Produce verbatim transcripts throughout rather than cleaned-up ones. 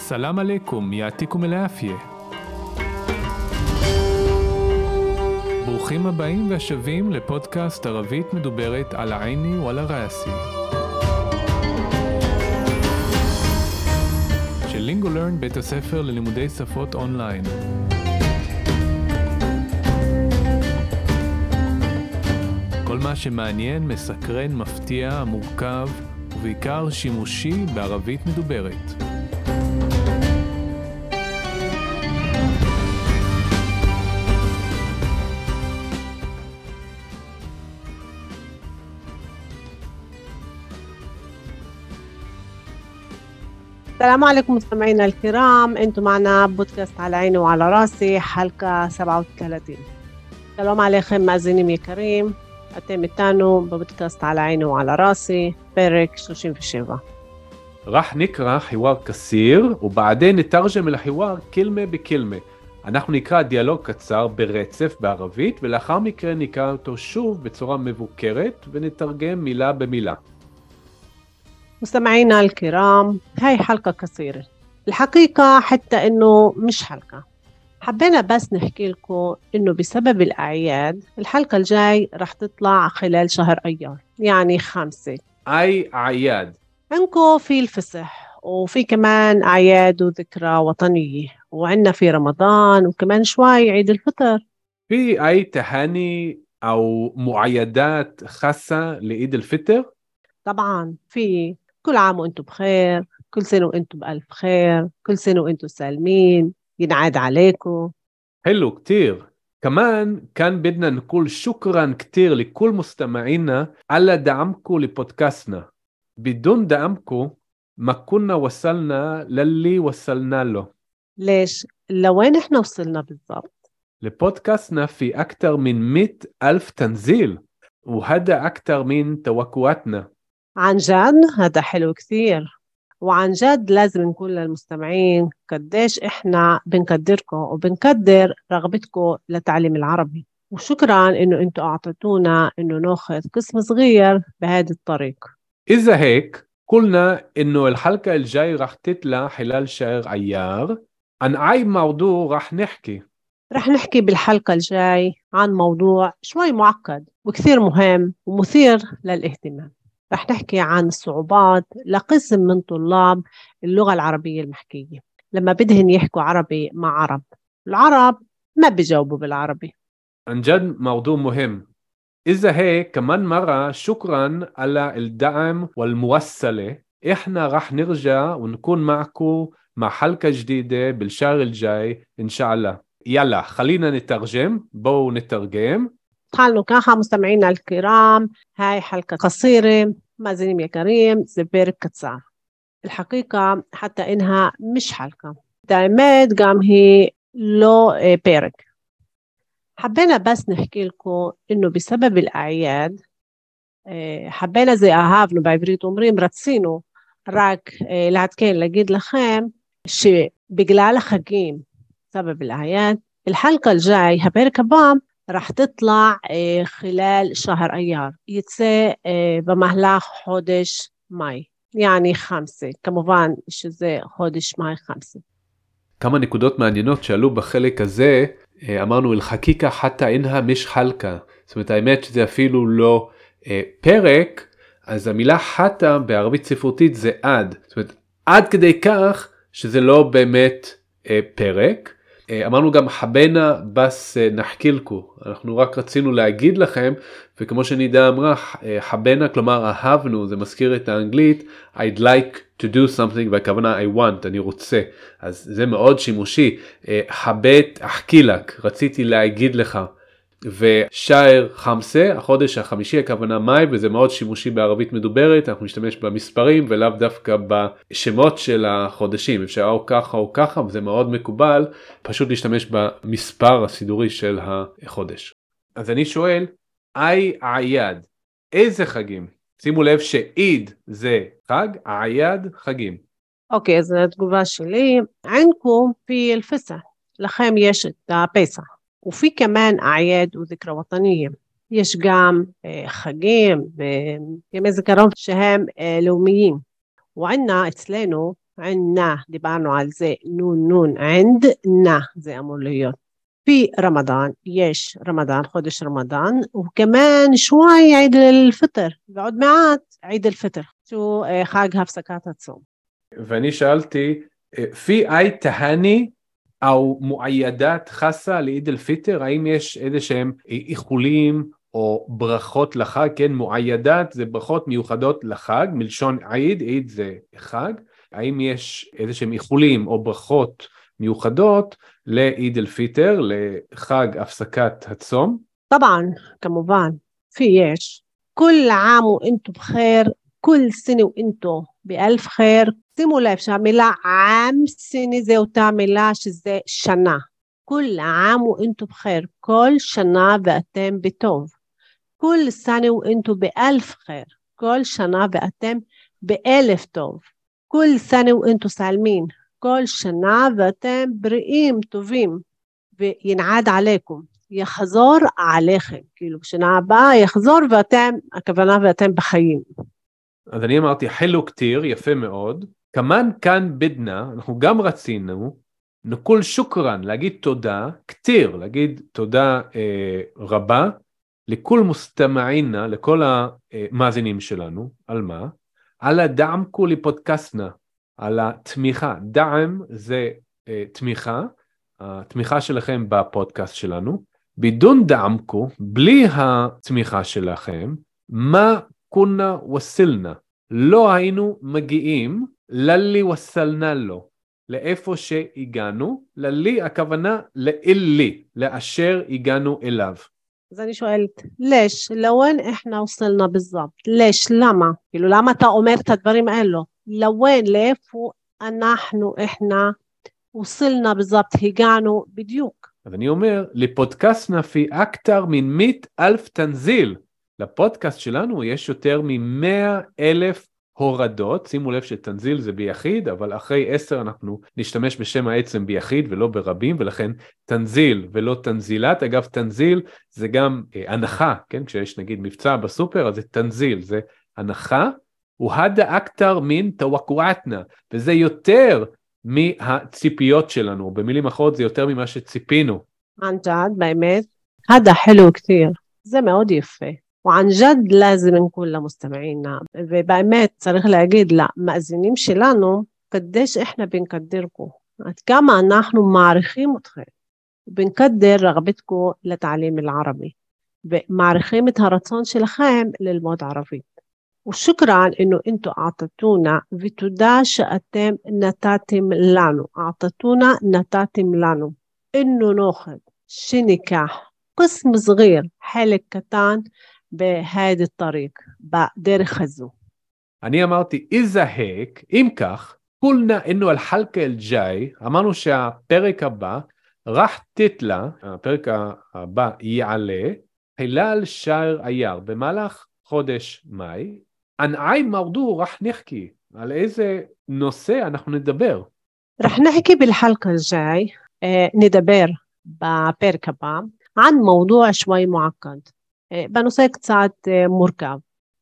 السلام عليكم يعطيكم العافية. ברוכים הבאים והשבים לפודקאסט ערבית מדוברת על העיני ועל הראסי של לינגולרן, בית הספר ללימודי שפות אונליין. כל מה שמעניין, מסקרן, מפתיע, מורכב ובעיקר שימושי בערבית מדוברת. السلام عليكم مستمعينا الكرام، انتم معنا بودكاست على عيني وعلى راسي حلقة سبعة وثلاثين. سلام عليكم مأزينين يكريم، אתם איתנו בבודקאסט على عيني وعلى راسي פרק שלושים ושבע. راح نقرأ حوار قصير وبعدين نترجم الحوار كلمة بكلمة. אנחנו נקרא דיאלוג קצר ברצף בערבית ולאחר מכן נקרא אותו שוב בצורה מבוקרת ונתרגם מילה במילה. مستمعينا الكرام، هاي حلقة قصيرة الحقيقة، حتى إنه مش حلقة. حبينا بس نحكي لكم إنه بسبب الأعياد الحلقة الجاي رح تطلع خلال شهر أيار، يعني خمسة. أي أعياد؟ عندكم في الفصح وفي كمان أعياد وذكرى وطنية، وعندنا في رمضان وكمان شوي عيد الفطر. في أي تهاني أو معيدات خاصة لعيد الفطر؟ طبعاً في. كل عام وانتم بخير، كل سنة وانتم بألف خير، كل سنة وانتم سالمين، ينعاد عليكم. حلو كتير. كمان كان بدنا نقول شكرا كتير لكل مستمعينا على دعمكم لبودكاستنا. بدون دعمكم ما كنا وصلنا للي وصلنا له. ليش؟ لوين احنا وصلنا بالضبط؟ لبودكاستنا في أكثر من مئة ألف تنزيل، وهذا أكثر من توقعاتنا. عن جد هذا حلو كثير، وعن جد لازم نقول للمستمعين قديش إحنا بنقدركم وبنقدر رغبتكم لتعليم العربي، وشكراً إنه أنتوا أعطيتونا إنه ناخذ قسم صغير بهذا الطريق. إذا هيك قلنا إنه الحلقة الجاي رح تطلع خلال شهر أيار. عن أي موضوع رح نحكي؟ رح نحكي بالحلقة الجاي عن موضوع شوي معقد وكثير مهم ومثير للاهتمام. رح نحكي عن الصعوبات لقسم من طلاب اللغة العربية المحكية لما بدهن يحكوا عربي مع عرب. العرب ما بيجاوبوا بالعربي. عن جد موضوع مهم. إذا هيك كمان مرة شكرا على الدعم والموصلة. إحنا رح نرجع ونكون معكم مع حلقة جديدة بالشهر الجاي إن شاء الله. يلا خلينا نترجم. بو نترجم. خلوا كاها مستمعينا الكرام، هاي حلقة قصيرة مازينين يا كريم زبير كتسار. الحقيقة حتى إنها مش حلقة دائمات قام هي لو بيرك. حبينا بس نحكي لكم إنه بسبب الأعياد حبينا زي أهافنو بعبريت أمرين رتسينو راك لعدكين لقيد لخيم شي بقلال خقيم سبب الأعياد. الحلقة الجاي هبيرك بام رح تطلع خلال شهر أيار، يتسي بمهلاخ خودش ماي، يعني خمسة. كمובן שזה חודש מאי חמסה. כמה נקודות מעניינות שעלו בחלק הזה. אמרנו אל-חקיקה חתא אינها מש חלקה, זאת אומרת האמת שזה אפילו לא אה, פרק. אז המילה חתא בערבית ספרותית זה עד, זאת אומרת עד כדי כך שזה לא באמת אה, פרק. אמרנו גם חבנה בס נחקילקו, אנחנו רק רצינו להגיד לכם, וכמו שנידה אמרה, חבנה כלומר אהבנו, זה מזכיר את האנגלית I'd like to do something, והכוונה I want, אני רוצה. אז זה מאוד שימושי. חבט אחקילק, רציתי להגיד לך. ושער חמסה, החודש החמישי, הכוונה מאי, וזה מאוד שימושי בערבית מדוברת. אנחנו משתמש במספרים ולאו דווקא בשמות של החודשים, אפשר או ככה או ככה, וזה מאוד מקובל פשוט להשתמש במספר הסידורי של החודש. אז אני שואל, אי עייד, איזה חגים? שימו לב שעיד זה חג, עייד חגים. אוקיי, אז התגובה שלי, עינכם في الفصح, לכם יש את הפסח. وفي كمان أعياد وذكرى وطنية. יש גם חגים וימי זיכרון שהם לאומיים. وعنا אצלנו عندنا דיברנו על זה نون نون عندنا זה אמור להיות. في رمضان יש رمضان חודש רמדאן וכمان شوي عيد الفطر ועוד מעט عيد الفطر שהוא חג הפסקת הצום. ואני שאלתי في أي تهاني أو معيدات خاصة לעיד אל-פיטר? האם יש איזה שהם איחולים או ברכות לחג? כן, מועיידת זה ברכות מיוחדות לחג, מלשון עיד, עיד זה חג. האם יש איזה שהם איחולים או ברכות מיוחדות לעיד אל-פיטר, לחג הפסקת הצום? طبعا كمובן, في יש. كل عام وانتم بخير, كل سنة وانتم بألف خير. שימו לב שהמילה עם סיני זה אותה מילה שזה שנה. كل عام وانتم بخير, כל שנה ואתם בטוב. كل سنة وانتم بألف خير, כל שנה ואתם באלף טוב. كل سنة وانتم سالمين, כל שנה ואתם בריאים טובים. וינעד עליכם, יחזור עליכם, כאילו בשנה הבאה יחזור ואתם, הכוונה ואתם בחיים. אז אני אמרתי חלו כתיר, יפה מאוד. כמן כאן בדנה, אנחנו גם רצינו, נקול שוקרן, להגיד תודה, כתיר, להגיד תודה אה, רבה, לכל מוסתמעינה, לכל המאזינים שלנו, על מה? על הדעם כולי פודקאסטנה, על התמיכה. דעם זה אה, תמיכה, התמיכה שלכם בפודקאסט שלנו. בידון דעמקו, בלי התמיכה שלכם, מה כונה וסלנה? לא היינו מגיעים ללי וסלנה לו, לאיפה שהגענו, ללי הכוונה לאלי, לאשר הגענו אליו. אז אני שואלת, לש, לוין איחנה וסלנה בזבת? לש, למה? כאילו, למה אתה אומר את הדברים האלו? לוין, לאיפה אנחנו איחנה וסלנה בזבת, הגענו בדיוק. אז אני אומר, לפודקאסט נפי אקטר מן מית אלף תנזיל. לפודקאסט שלנו יש יותר ממאה אלף הורדות. שימו לב שתנזיל זה ביחיד, אבל אחרי עשר אנחנו נשתמש בשם העצם ביחיד ולא ברבים, ולכן תנזיל ולא תנזילת. אגב, תנזיל זה גם אה, הנחה, כן? כשיש נגיד מבצע בסופר, אז זה תנזיל, זה הנחה. והדה אקטר מן תווקועתנה, וזה יותר מהציפיות שלנו, במילים אחרות זה יותר ממה שציפינו. ען ג'ד, באמת, הדה חלו כתיר, זה מאוד יפה. וען ג'ד לازم נקול למוסתמעינה, ובאמת צריך להגיד למאזינים שלנו, קדש איחנה בנקדרקו, עד כמה אנחנו מעריכים אתכם, ובנקדר רغبתכו לתעלים العربي, ומעריכים את הרצון שלכם ללמוד ערבית. وشكرا إنه أنتوا أعطتونا وتودا شأتم نتاتم لانو أعطتونا نتاتم لانو إنه ناخد شنكاح قسم صغير حلق كتان بهذا الطريق بدير خزو. אני אמרתי איזה היק, אם כך, قلنا إنه الحلقة الجاي, אמרנו שהפרק הבא, רח תתלה, הפרק הבא יעלה, חילal שער אייר, במהלך חודש מאי, ען אי מרדו רח נחקי, על איזה נושא אנחנו נדבר? רח נחקי بالحلقة الجاي, נדבר בפרק הבא, عن موضوع شوي معقد, בנושא קצת מורכב,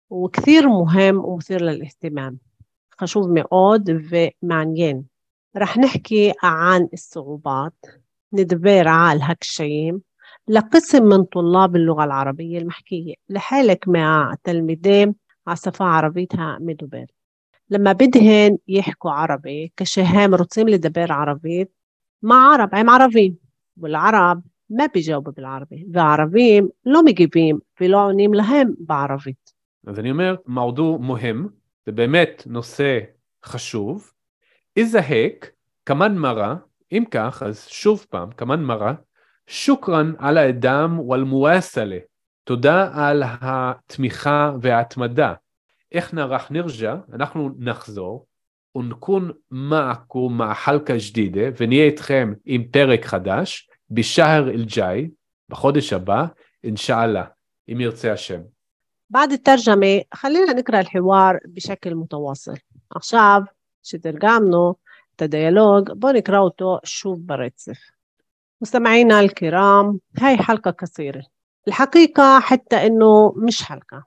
וכתיר מוהם ומתיר לلاهتمام, חשוב מאוד ומעניין. רח נחקי عن الصعوبات, נדבר על הקשיים, لقسم من طلاب اللغة العربية المحكية لحالك مع تلميذين عصفة عربيتها مدبر لما بدهن يحكوا عربي كشهم رطيم لدبر عربي مع عرب عم عربي والعرب ما بيجاوبوا بالعربي والعربيين لو مجيبين ולא עונים להם בערבית. אז אני אומר, موضوع مهم, זה באמת נושא חשוב. איזה היק, כמן מרה, אם כך, אז שוב פעם, כמן מרה, שוקרן על האדם והמואסלה, תודה על התמיכה וההתמדה. איך נרח נרג'ה, אנחנו נחזור, ונכון מעקו מהחלקה ג'דידה, ונהיה איתכם עם פרק חדש, בשהר אל-ג'אי, בחודש הבא, אינשאללה, אם ירצה השם. بعد الترجمة خلينا نقرأ الحوار بشكل متواصل. עכשיו שתרגמנו את הדיאלוג, בואו נקרא אותו שוב ברצף. مستمعينا الكرام، هاي حلقة قصيرة الحقيقة، حتى إنه مش حلقة.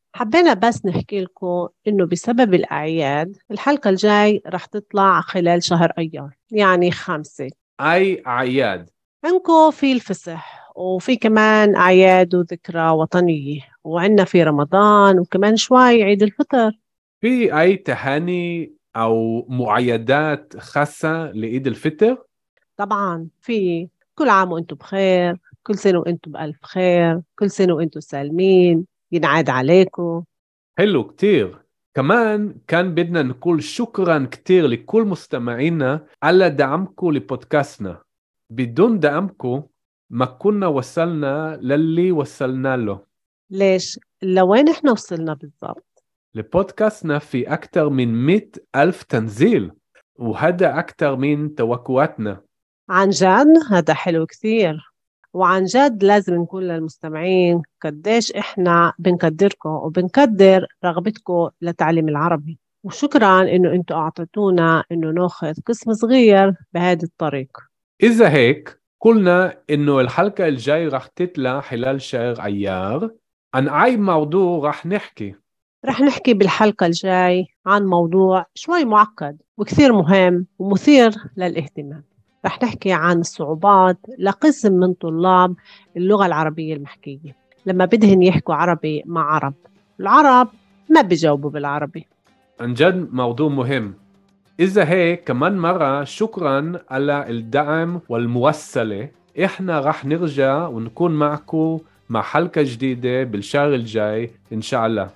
حبينا بس نحكي لكم إنه بسبب الأعياد الحلقة الجاي رح تطلع خلال شهر أيار، يعني خمسة. أي أعياد؟ عندكم في الفصح وفي كمان أعياد وذكرى وطنية، وعندنا في رمضان وكمان شوي عيد الفطر. في أي تهاني أو معيدات خاصة لعيد الفطر؟ طبعا في. كل عام وانتم بخير، كل سنة وانتم بألف خير، كل سنة وانتم سالمين، ينعاد عليكم. حلو كتير. كمان كان بدنا نقول شكرا كتير لكل مستمعينا على دعمكم لبودكاستنا. بدون دعمكم ما كنا وصلنا للي وصلنا له. ليش؟ لوين احنا وصلنا بالضبط؟ لبودكاستنا في أكثر من مئة ألف تنزيل، وهذا أكثر من توقعاتنا. عن جد هذا حلو كثير، وعن جد لازم نقول للمستمعين قديش احنا بنقدركم وبنقدر رغبتكم لتعليم العربي، وشكرا انه انتم اعطيتونا انه ناخذ قسم صغير بهذا الطريق. إذا هيك قلنا إنه الحلقة الجاي رح تطلع خلال شهر أيار. عن أي موضوع رح نحكي؟ رح نحكي بالحلقة الجاي عن موضوع شوي معقد وكثير مهم ومثير للاهتمام. رح نحكي عن الصعوبات لقسم من طلاب اللغة العربية المحكية لما بدهن يحكوا عربي مع عرب، العرب ما بيجاوبوا بالعربي. عن جد موضوع مهم. إذا هيك كمان مرة شكرا على الدعم والموصلة. إحنا رح نرجع ونكون معكم مع حلقة جديدة بالشهر الجاي إن شاء الله.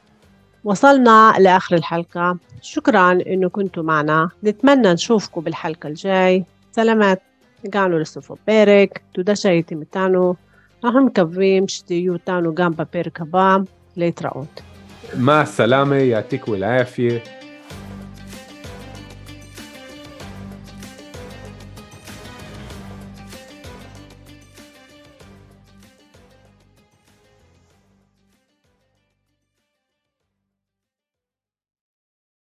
وصلنا لآخر الحلقة، شكرا إنه كنتوا معنا. نتمنى نشوفكم بالحلقة الجاي. سلامات. قانو لسوفو بيرك تودا شايتي متانو نحن مكبرين شتيو تانو جامبا بيركبام ليتراوت. مع السلامة، يعطيكم العافية.